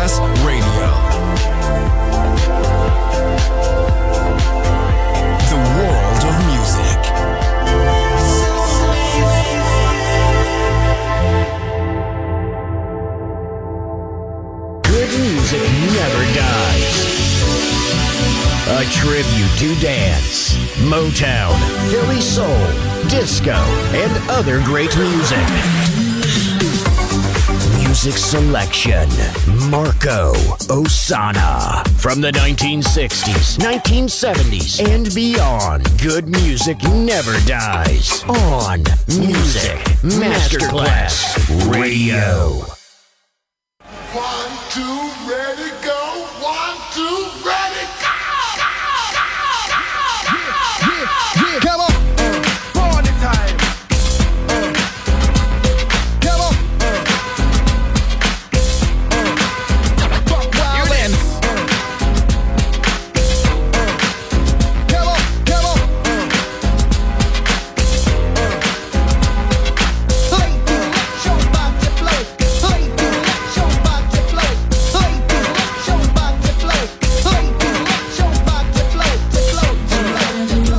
Masterclass Radio. The world of music. Good music never dies. A tribute to dance, Motown, Philly soul, disco, and other great music. Music selection, Marco Ossanna. From the 1960s, 1970s, and beyond, good music never dies. On Music Masterclass Radio. 1, 2, ready, go. 1, 2, ready, go. Come on, party time. Come on, fuck wild and. Come on, come on. Ladies, let your body flow. Ladies, let your body flow. Ladies, let your body flow. Ladies, let your body flow. To flow, to flow, to flow.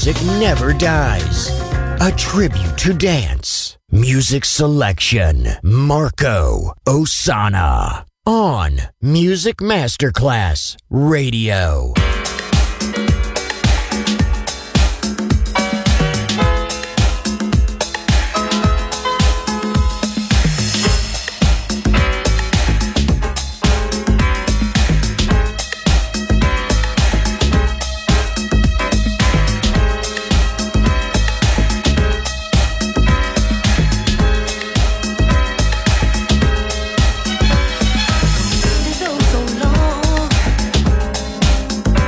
music never dies. A tribute to dance. Music selection. Marco Ossanna. On Music Masterclass Radio. So long.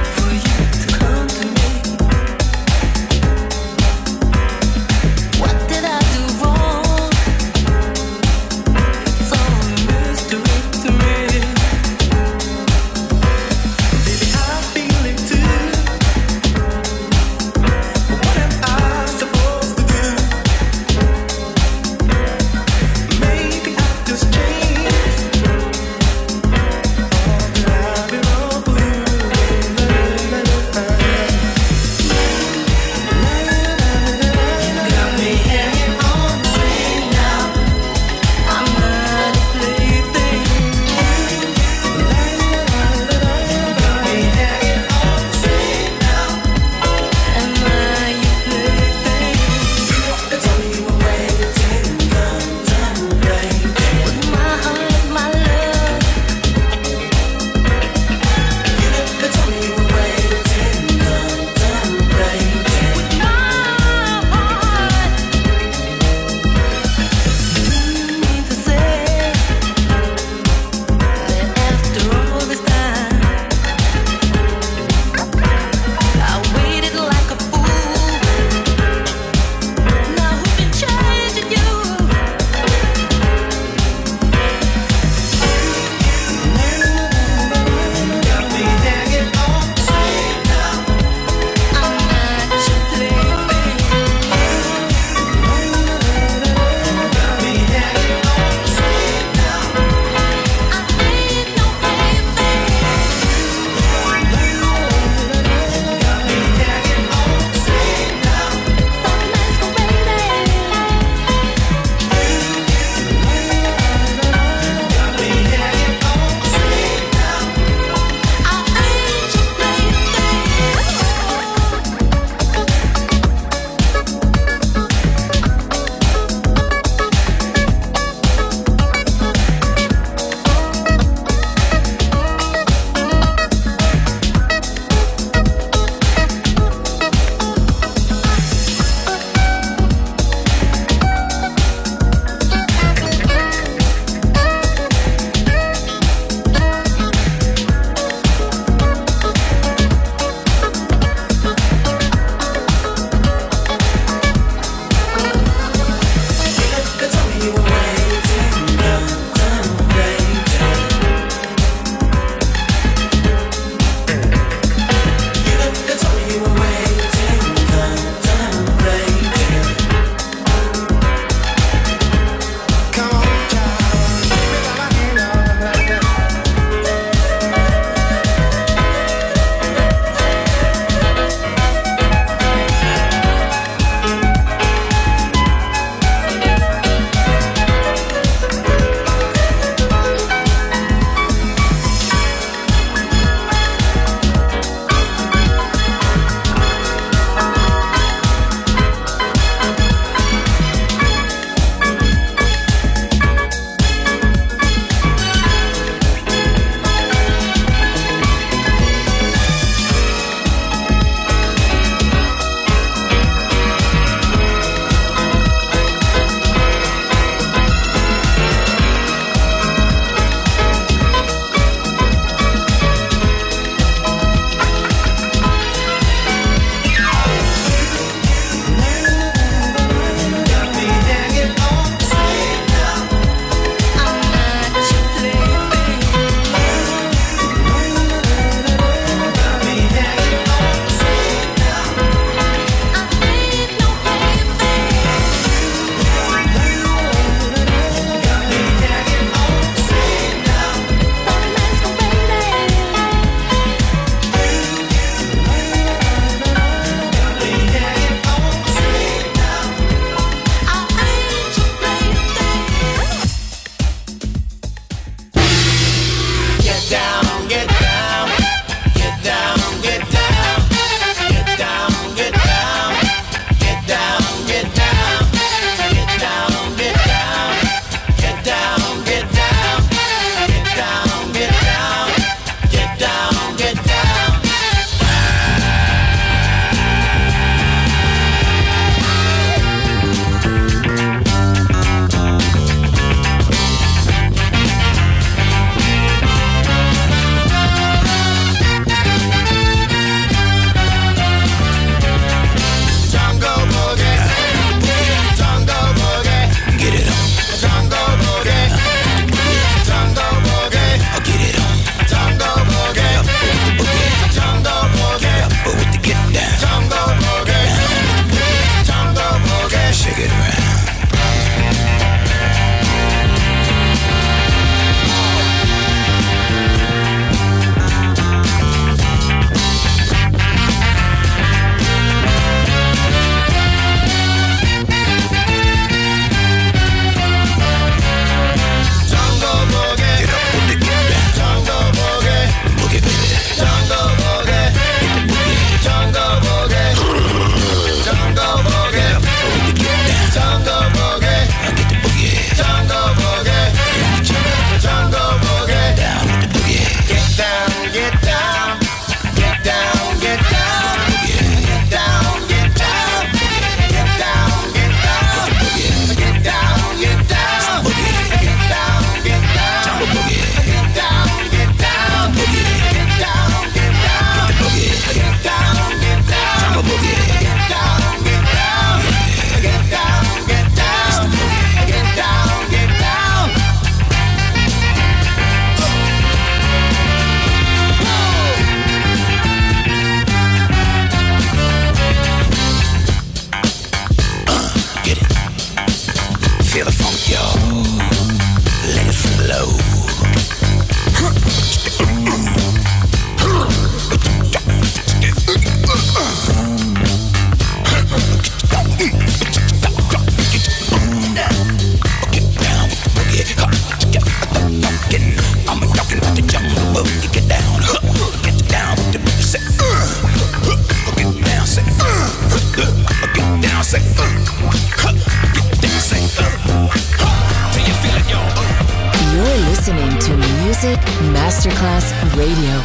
Radio.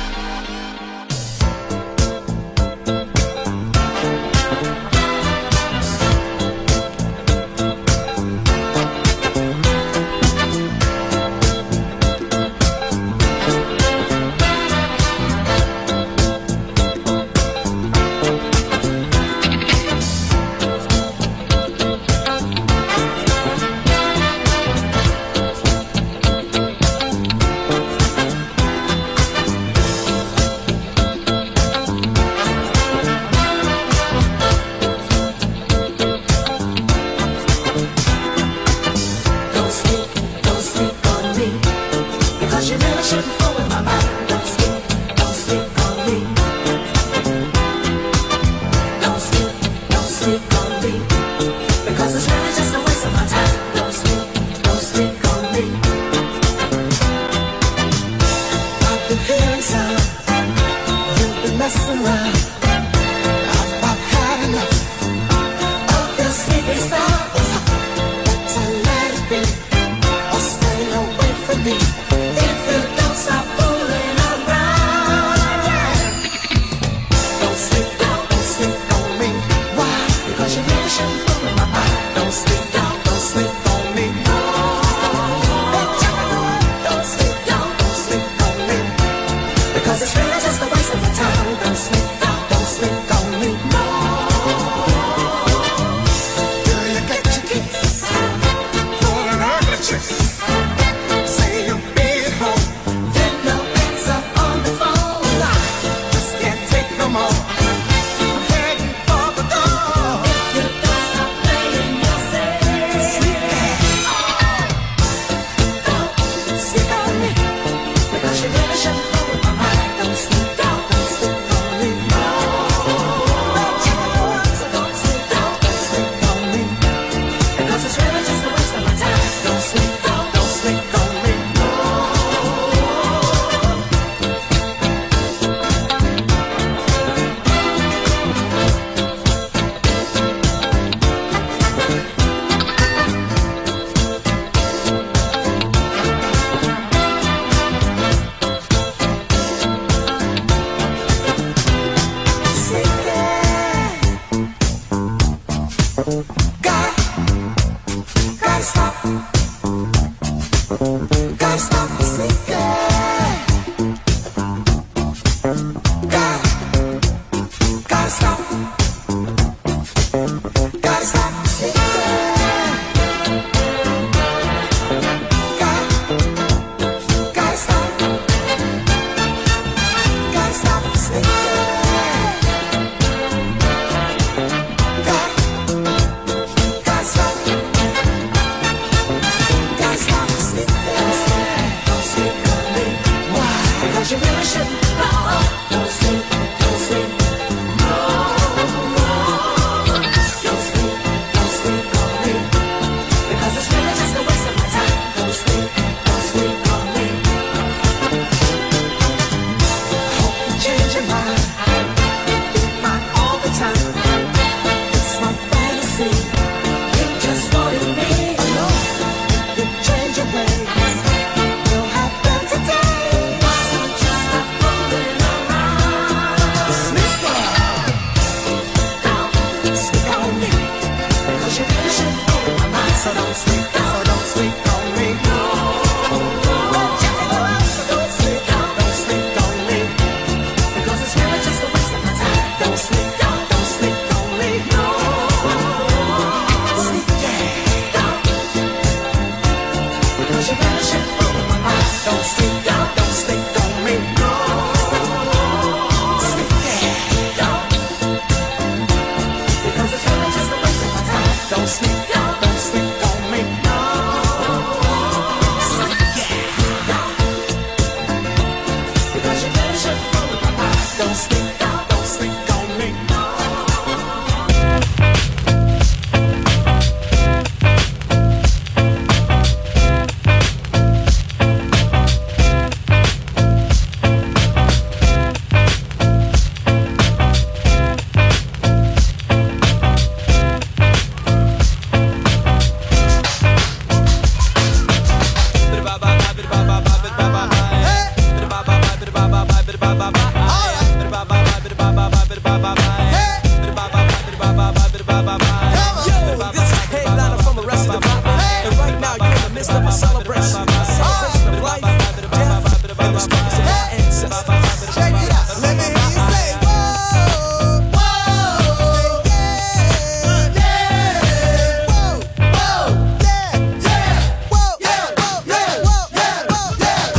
ba ba This is headliner from the rest of the pop. And right now you're in the midst of a celebration of life, death, and the struggles of our ancestors. Check it out. Let me hear you say, whoa, whoa, yeah, yeah, whoa, whoa, yeah, yeah, whoa, yeah, whoa, yeah, whoa, yeah, whoa, yeah.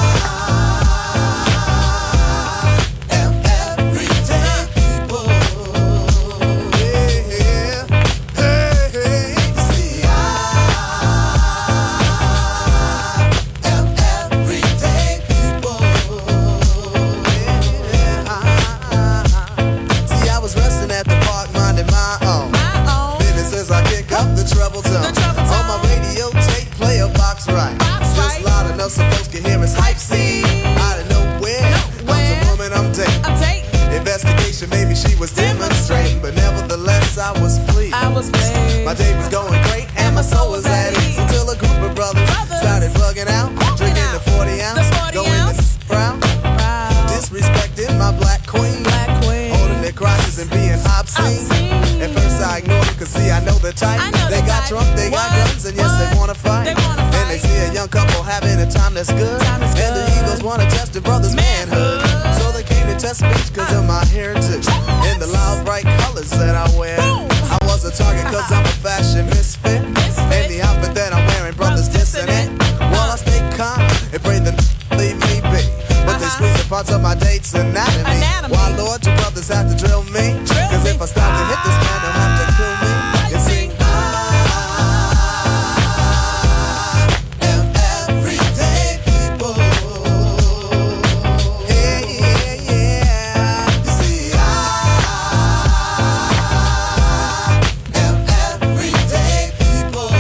I am everyday people. Yeah, hey, hey. See, I am everyday people. See, I was resting at the park, minding my own business as I pick up the treble tone. On my radio tape, play a box right. Just loud enough so folks can hear us hype scene. Out of nowhere, comes a woman I'm dating. Investigation, maybe she was demonstrating, but nevertheless I was pleased. My day was going great and my soul was at ease until a group of brothers started bugging out, drinking the 40 ounce, going to brown, disrespecting my black queen, holding their crotches and being obscene. At first I ignored it, cause see I know the type. They got drunk, they got guns, and yes they wanna fight. And they see a young couple having a time that's good, and the egos wanna test the brother's manhood. So they came to test speech cause of my heritage and the loud bright colors that I wear. I was a target cause I'm a fashion misfit, and the outfit that I'm wearing, brothers dissing it. While I stay calm and pray the leave me be, but they squeeze the parts of my date's anatomy. Why Lord, you brothers have to drill me? Cause if I stop to hit this man, they'll have to kill me. You see, I am everyday people. Yeah, yeah, yeah. You see, I am everyday people.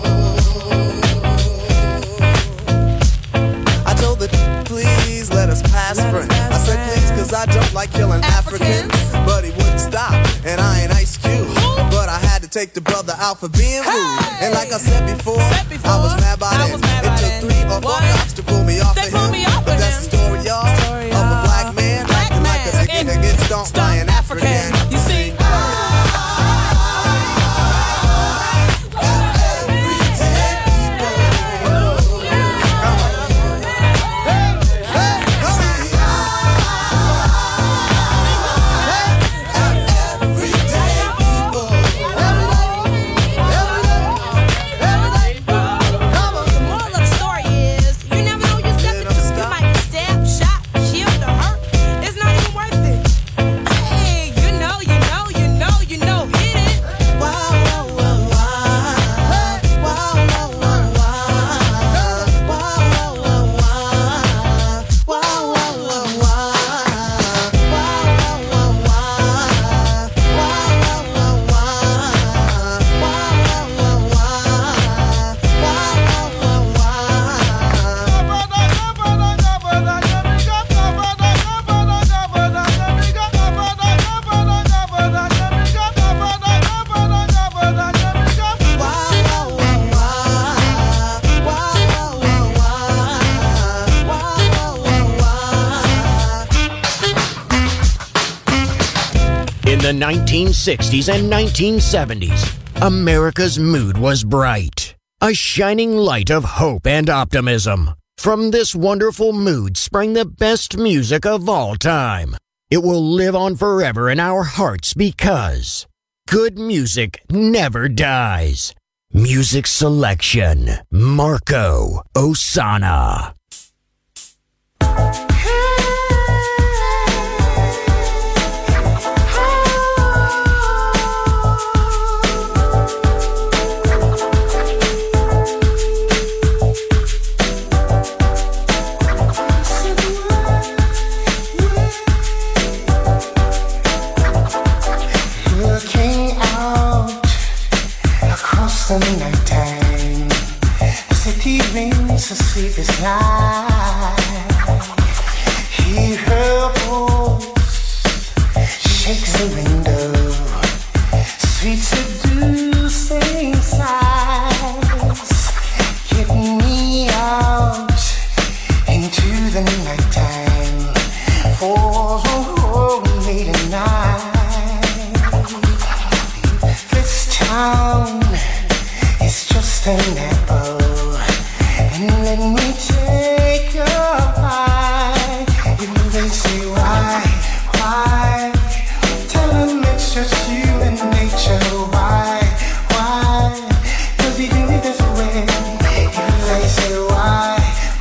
I told the please let us pass friends. I said please cause I don't like killing Africans. But he wouldn't stop, and I ain't Ice Cube. But I had to take the brother out for being rude. And like I said before, I was mad by then. It took 3 or 4 cops to pull me off of him. But that's the story, y'all, of a black man acting like a skin that gets stomped by an African. You see, In the 1960s and 1970s, America's mood was bright, a shining light of hope and optimism. From this wonderful mood sprang the best music of all time. It will live on forever in our hearts because good music never dies. Music selection, Marco Ossanna. The nighttime, the city rings a sleepless night. walls won't hold me tonight. This town is just an apple, and let me take a bite. If they say why, tell them it's just human nature. Why, does he do it this way? If they say why,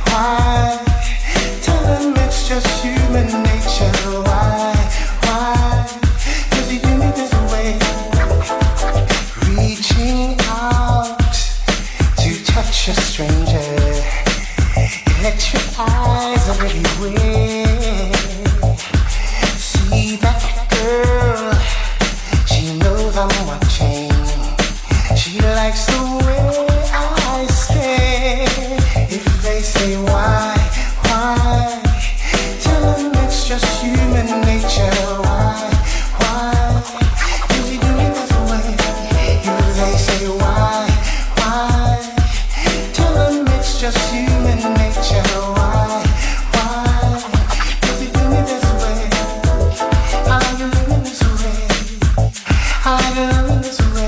tell them it's just human nature. Why, does he do it this way? Reaching out to touch a stranger, electric eyes are everywhere. See that girl, she knows I'm watching. She likes the way I stare. If they say why, tell them it's just human nature. Why, does he do it this way? If they say why, tell them it's just human nature. Why, does he do it this way? I like you living this way. I like you living this way.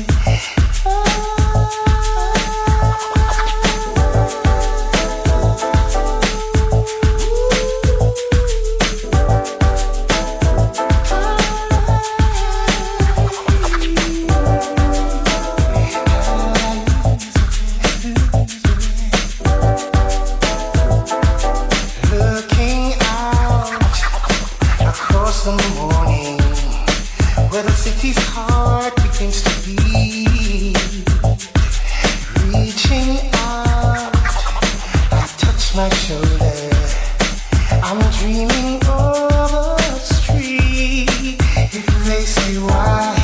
Looking out across the morning, where the city's heart begins to beat. Reaching out, I touch my shoulder. I'm dreaming of a street. If they say why,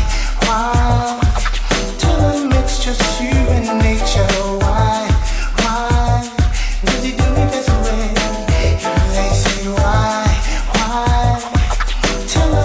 tell them it's just human nature. Why, does he do it this way? If they say why, tell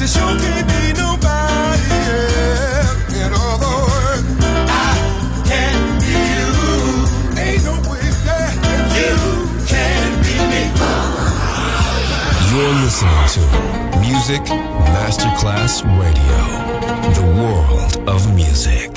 you sure can't be nobody else. In other words, I can't be you. Ain't no way that you can be me. You're listening to Music Masterclass Radio, the world of music.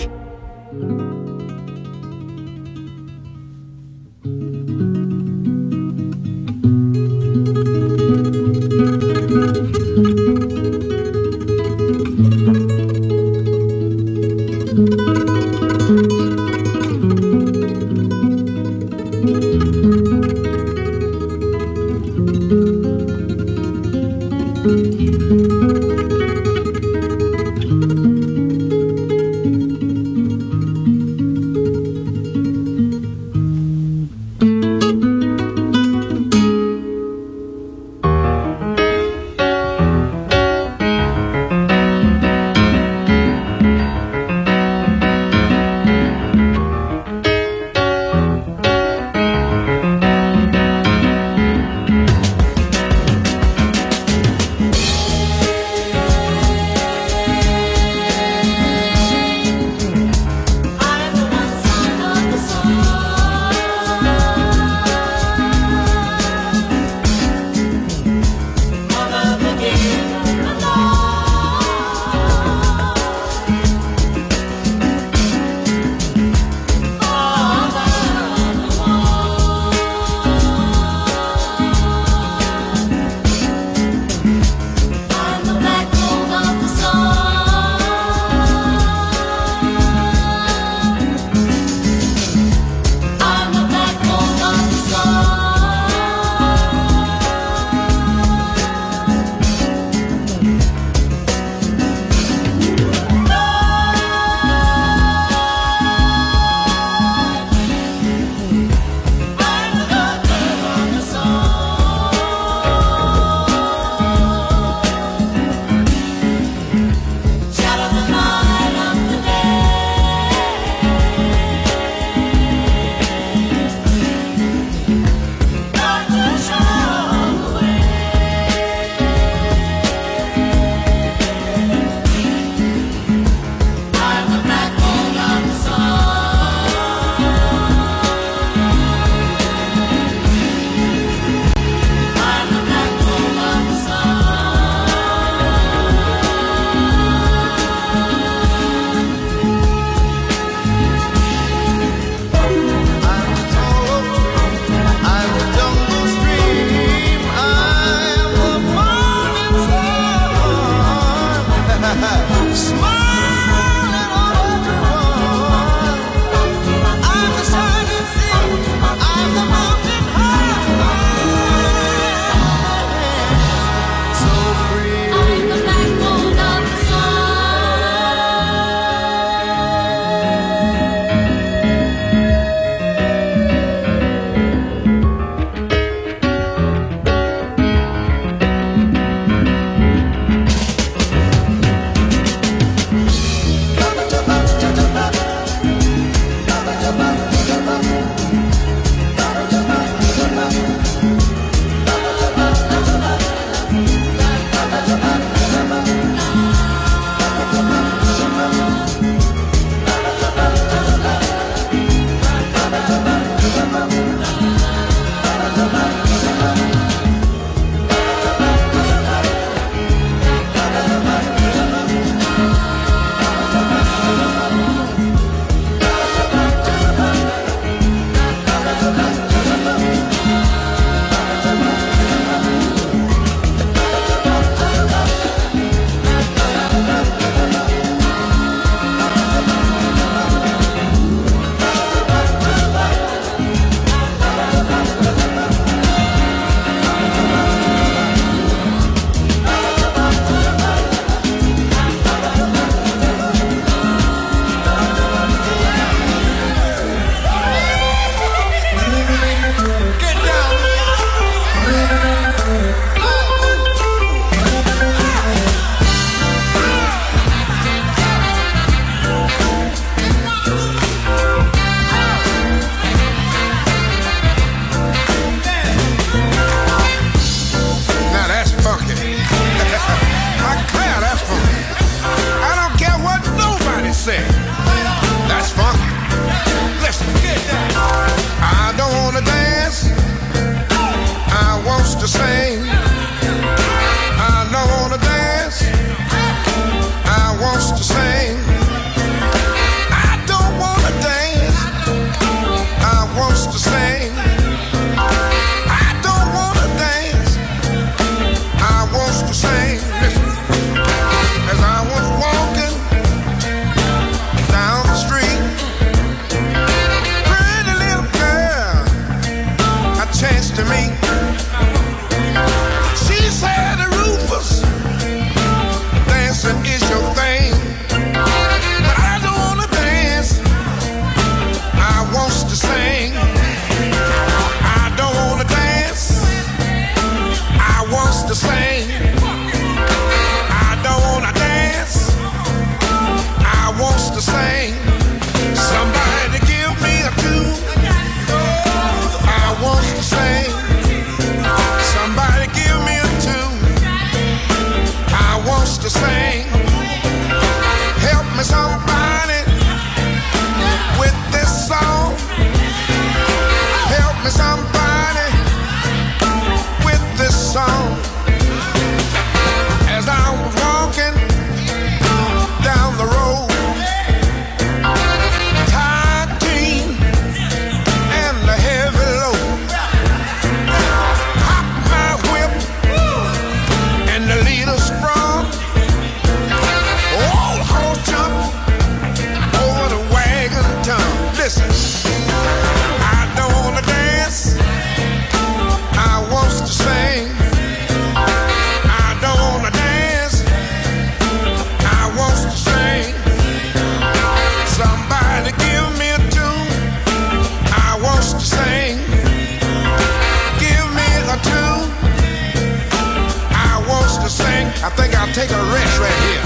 I think I'll take a rest right here.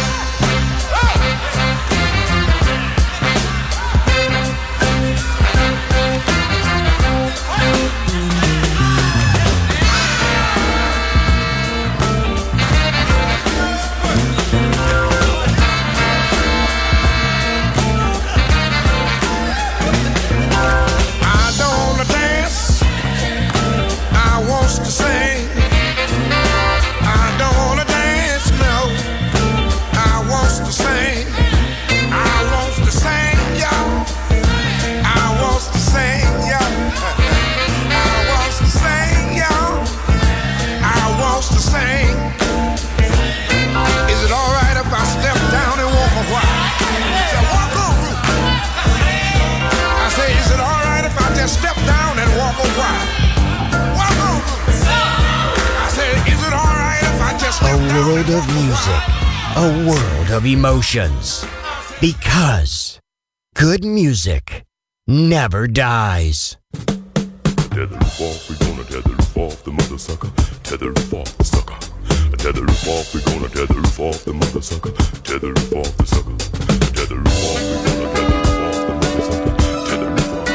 Step down and walk a while. Walk on. I said, is it all right if I just step down? A world of music, a world of emotions. Because good music never dies. Tether roof off, we gonna tether roof off the mother sucker. Tether roof off the sucker. Tether roof off, we gonna tether roof off the mother sucker. Tether roof off the sucker. Tether roof off, we gonna tether roof off the mother sucker. Tether roof off.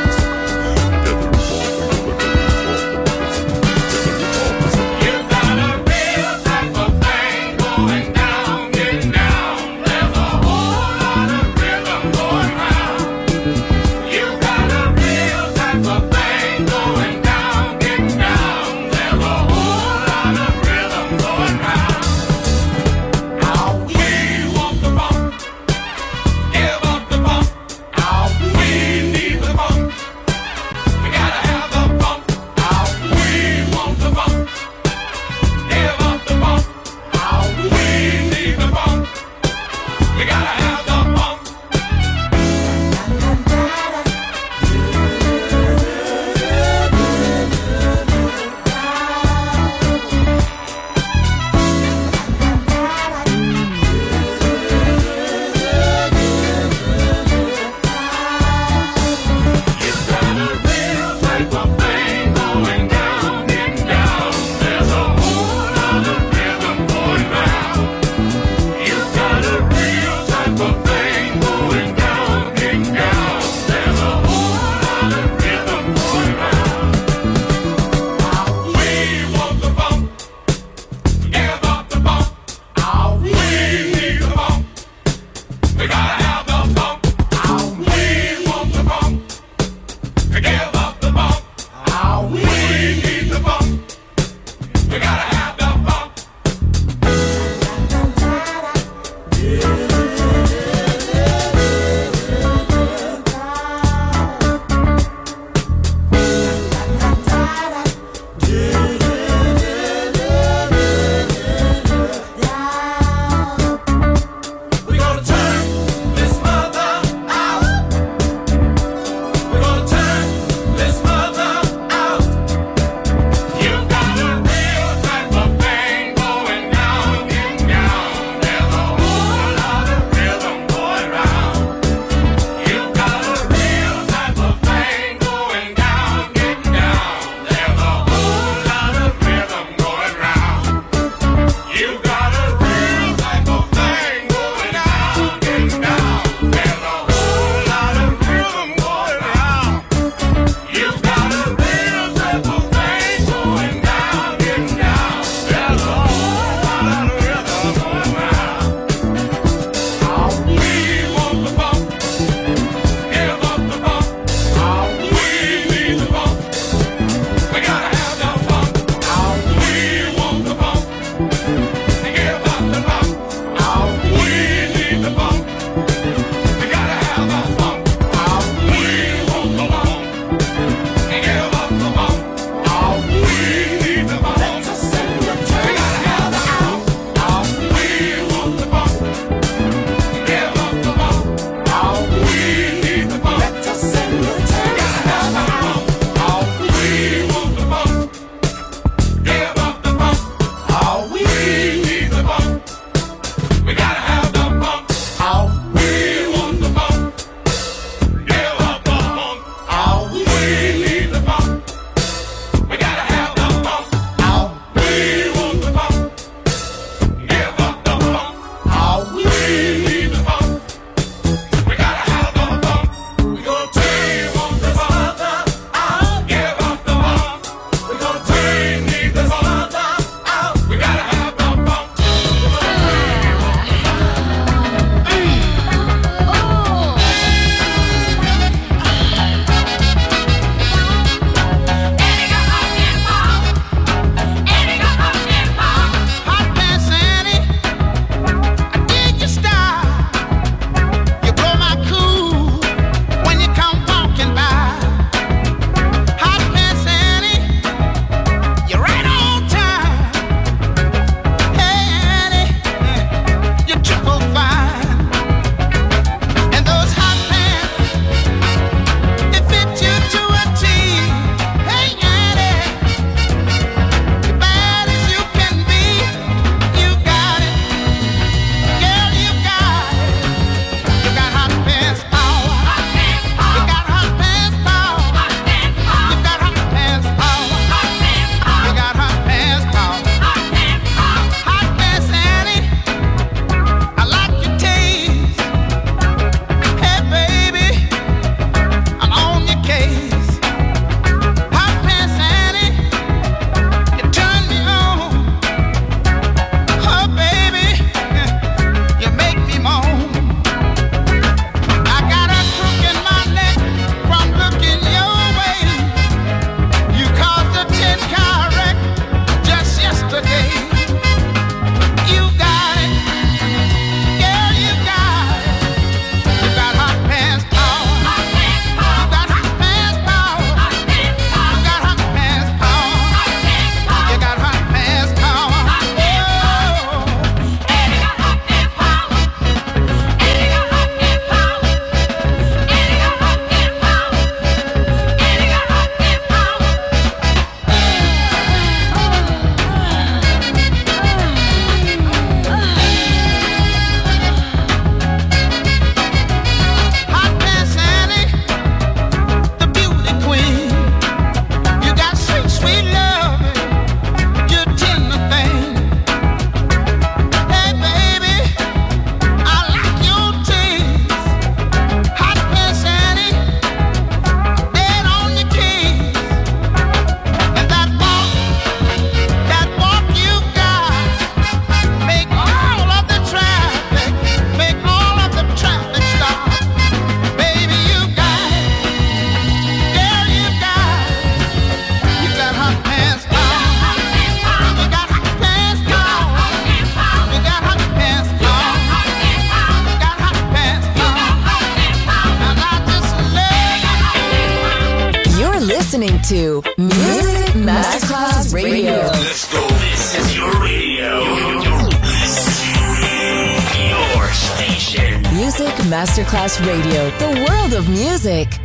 Give up the to Music Masterclass Radio. Let's go. This is your radio. Your station. Music Masterclass Radio. The world of music.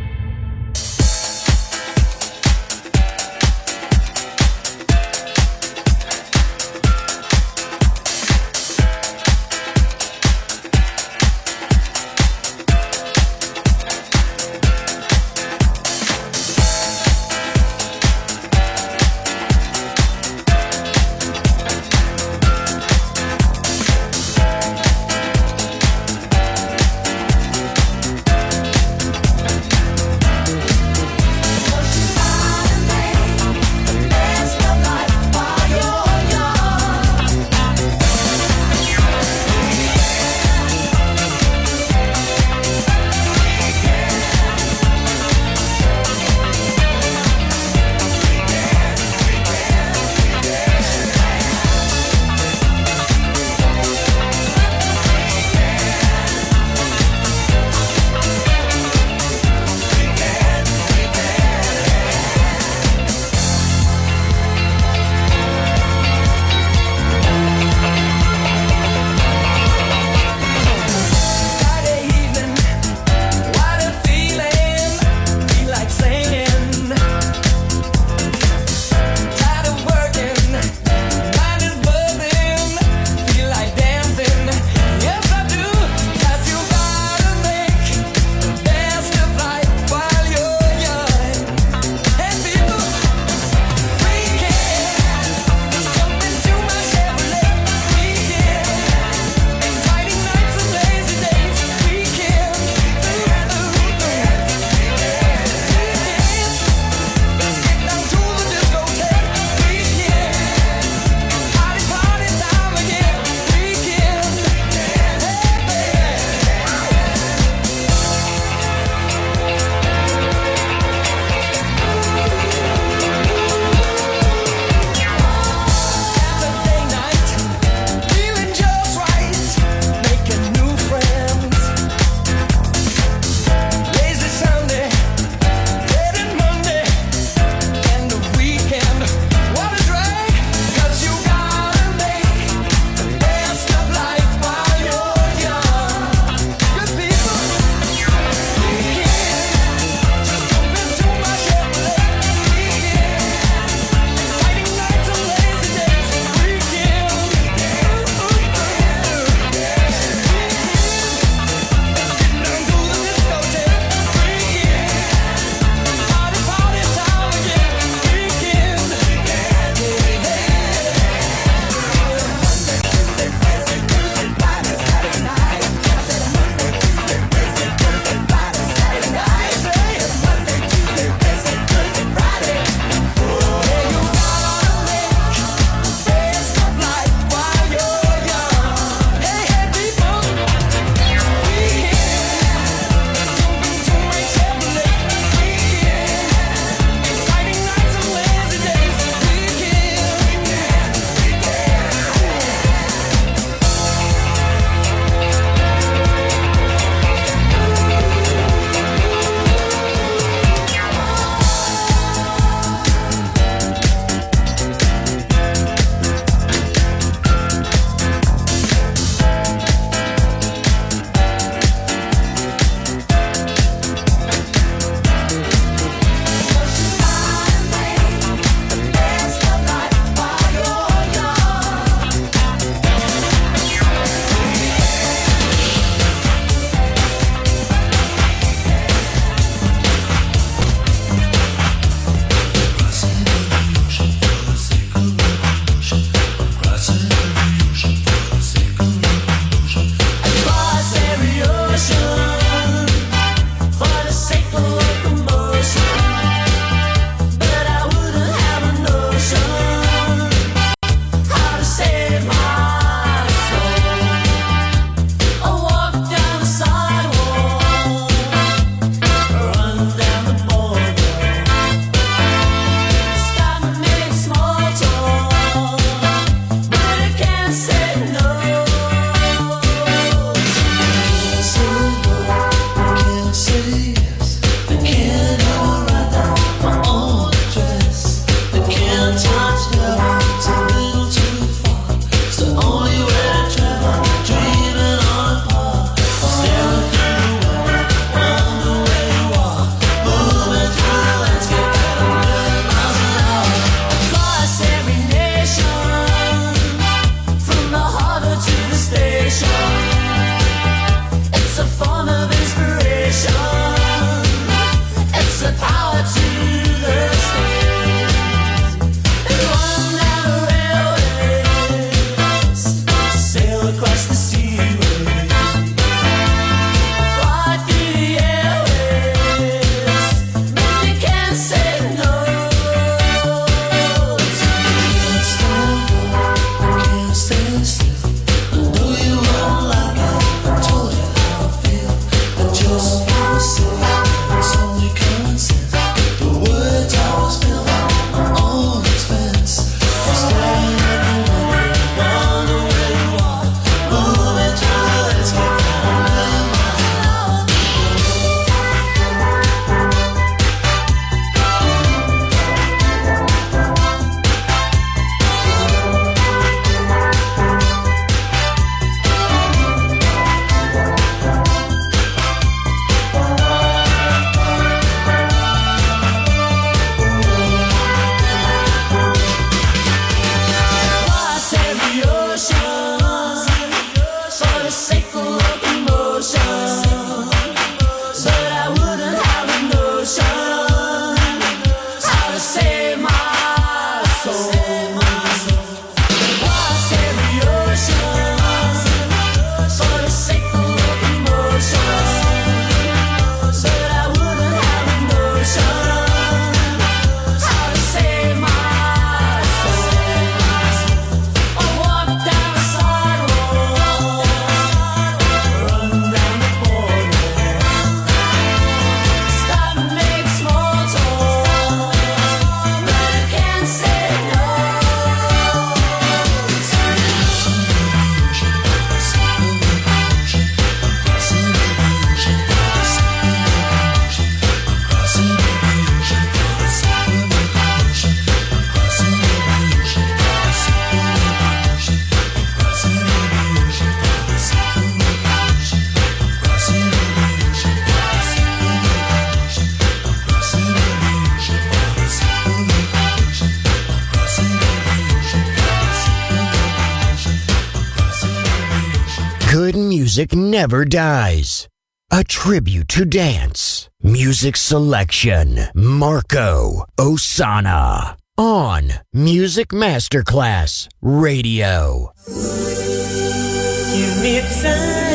good music never dies. A tribute to dance. Music selection, Marco Ossanna. On Music Masterclass Radio. Give me time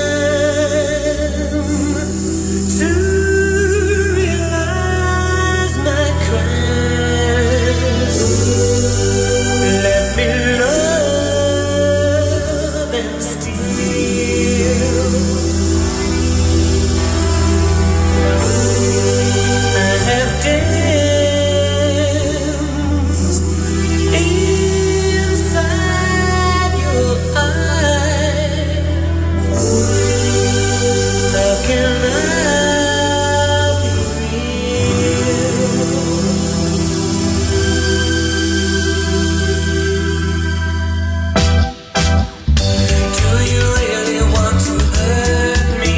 to realize my crimes. Let me love and steal. I have danced inside your eyes. How can I be real? Do you really want to hurt me?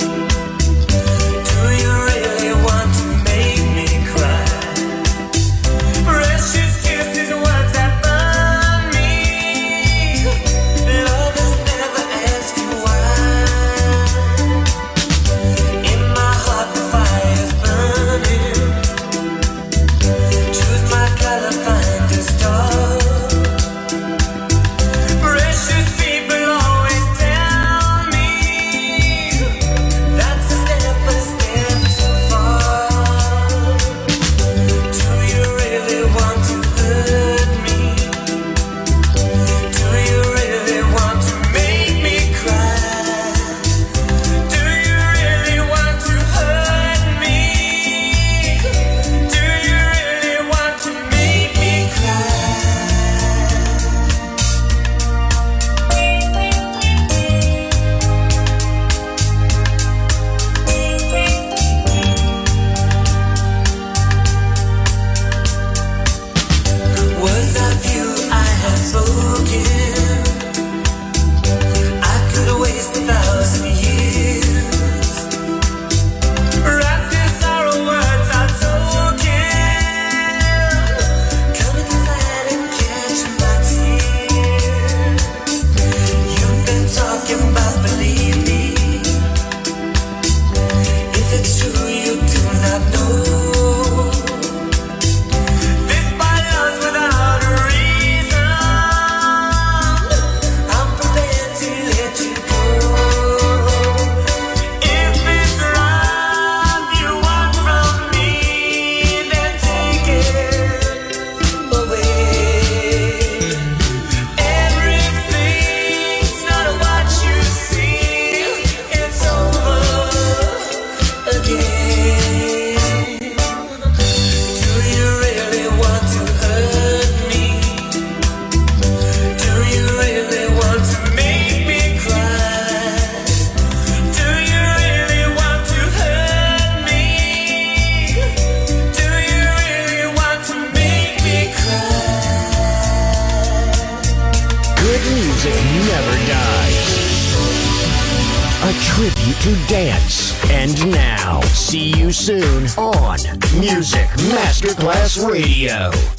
Do you really want to make me cry? Precious kisses, words that burn me. Lovers never ask you why. In my heart the fire's burning. Choose my color, find a star. Precious people always tell me that's a step too far. Do you really want to hurt me? Do you really want to make me cry? Do you really want to hurt me? Do you really want to make me cry? Words of you I have spoken. I could waste 1,000 years. Wrapped in sorrow, words are token. Come inside and catch my tears. You've been talking about believe me. If it's true, you do not know. This by love's without a reason. I'm prepared to let you go. If it's love you want from me, then take it away. Everything's not what you see. It's over again. Do you really want to hurt me? Do you really want to make me cry? Do you really want to hurt me? Do you really want to make me cry? Good music never dies. A tribute to dance. And now, see you soon on Music Masterclass Radio.